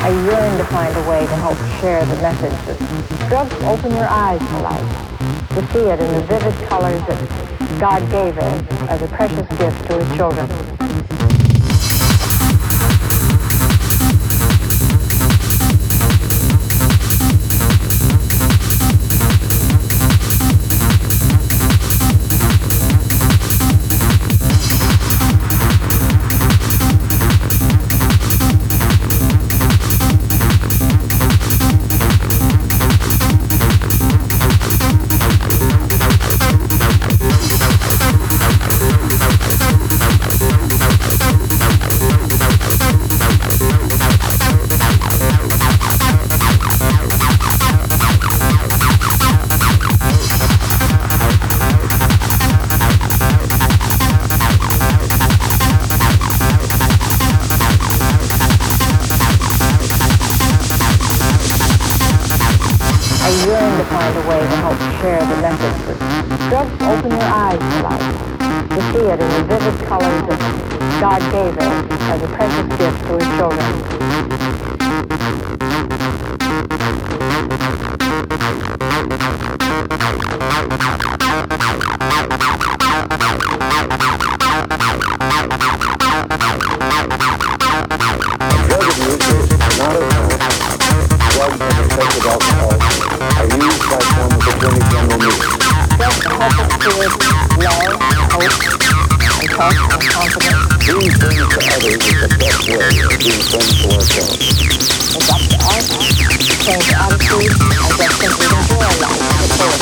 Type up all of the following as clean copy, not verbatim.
I yearn to find a way to help share the message that drugs open your eyes to life, to see it in the vivid colors that God gave us as a precious gift to His children. I yearn to find a way to help share the message that drugs open your eyes to life, to see it in the vivid colors that God gave us as a precious gift to His children. Being friends to others is the best way of being friends to ourselves. It's up to us to change attitudes and just simply enjoy life to the fullest.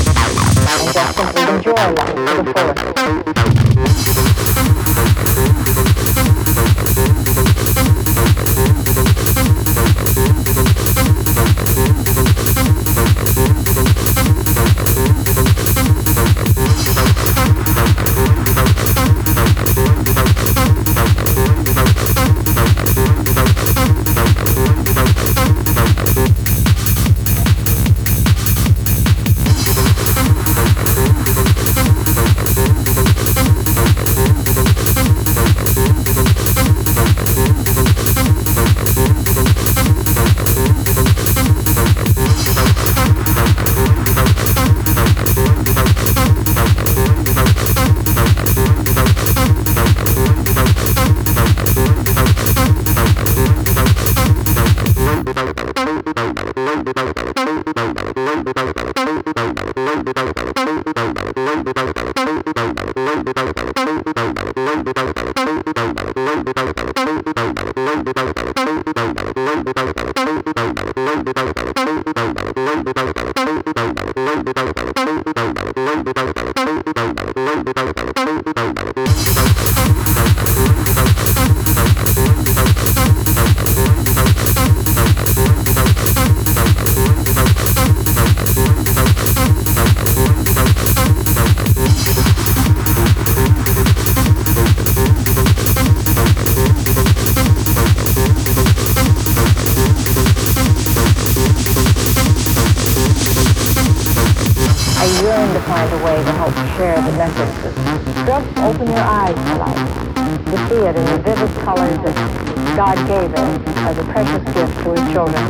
I yearn to find a way to help share the message that drugs open your eyes to life, to see it in the vivid colors that God gave us as a precious gift to His children.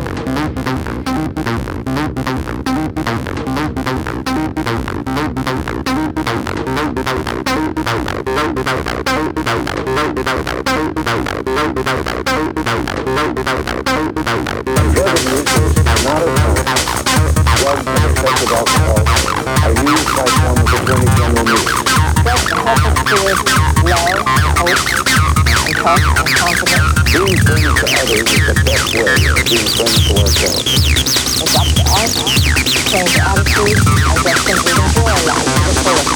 Being friends to others is the best way of being friends to ourselves. It's up to us to change attitudes and just simply enjoy life to the fullest.